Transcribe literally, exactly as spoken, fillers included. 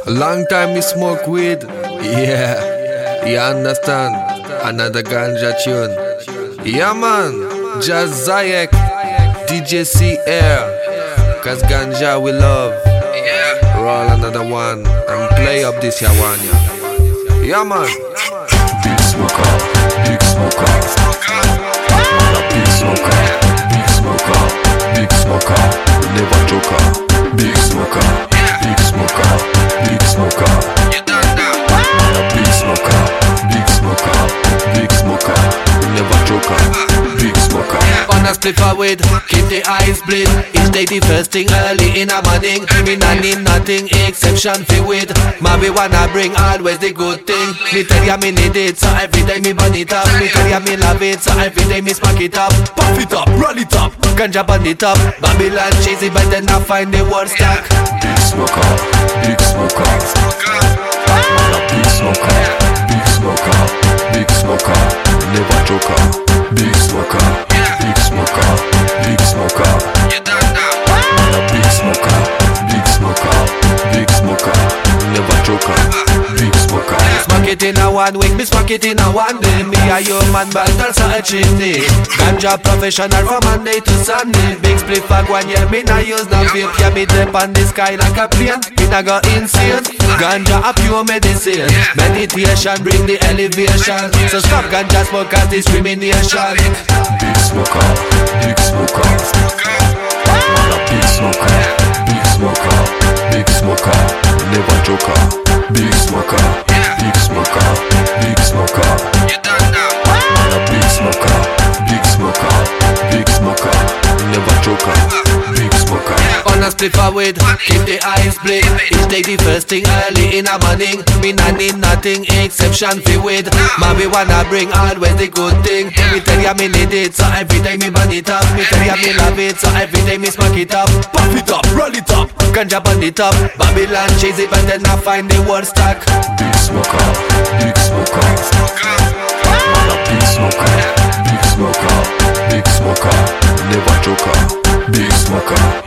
Long time me smoke weed. Yeah, you understand? Another ganja tune. Yeah man, Jazz Zayek, D J C Air. Cause ganja we love. Roll another one and play up this one. Yeah man. Big smoker, big smoker. Big smoker, big smoker, big smoker. Never joker. Big smoker, big smoker, big smoker. Big smoker, big smoker, big smoker. Never joker. Big smoker. On a split forward, keep the eyes bleed. Each day the first thing early in the morning. Me not need nothing exception fi with. Marijuana bring always the good thing. Me tell ya me need it, so every day me burn it up. Me tell ya me love it, so every day me smoke it up. Puff it up, roll it up, ganja burn it up. Babylon cheesy, but then I find the word stack. Big smoker, big smoker. Big smoker, big smoker, big smoker. Never joker. Big smoker, big smoker, big smoker. Big smoker, big smoker, big smoker. Never joker. Big smoker. Smoke it in a one week, me smoke it in a one day. Me a human but also a chimney. Ganja professional from Monday to Sunday. Big split bag one year, me not use no vape. Yeah, me dip on the sky like a plane. Me not go insane. Ganja a pure medicine. Meditation bring the elevation. So stop ganja smoke as discrimination. Big smoker, big smoker. Big smoker, big smoker, big smoker. Never joker. Big smoker, big smoker, big smoker. Big smoker, big smoker, big smoker. Never joker. Big smoker. On a split forward, keep the eyes bleed. Each day the first thing early in the morning. Me not need nothing exception fi with. Marijuana bring always the good thing. Me tell ya me need it, so every day me burn it up. Me tell ya me love it, so every day me smoke it up. Puff it up, roll it up, ganja burn it up. Babylon cheesy, but then I find the word stack. Big smoker, big smoker. Big smoker, big smoker, big smoker. Never joker. Big smoker.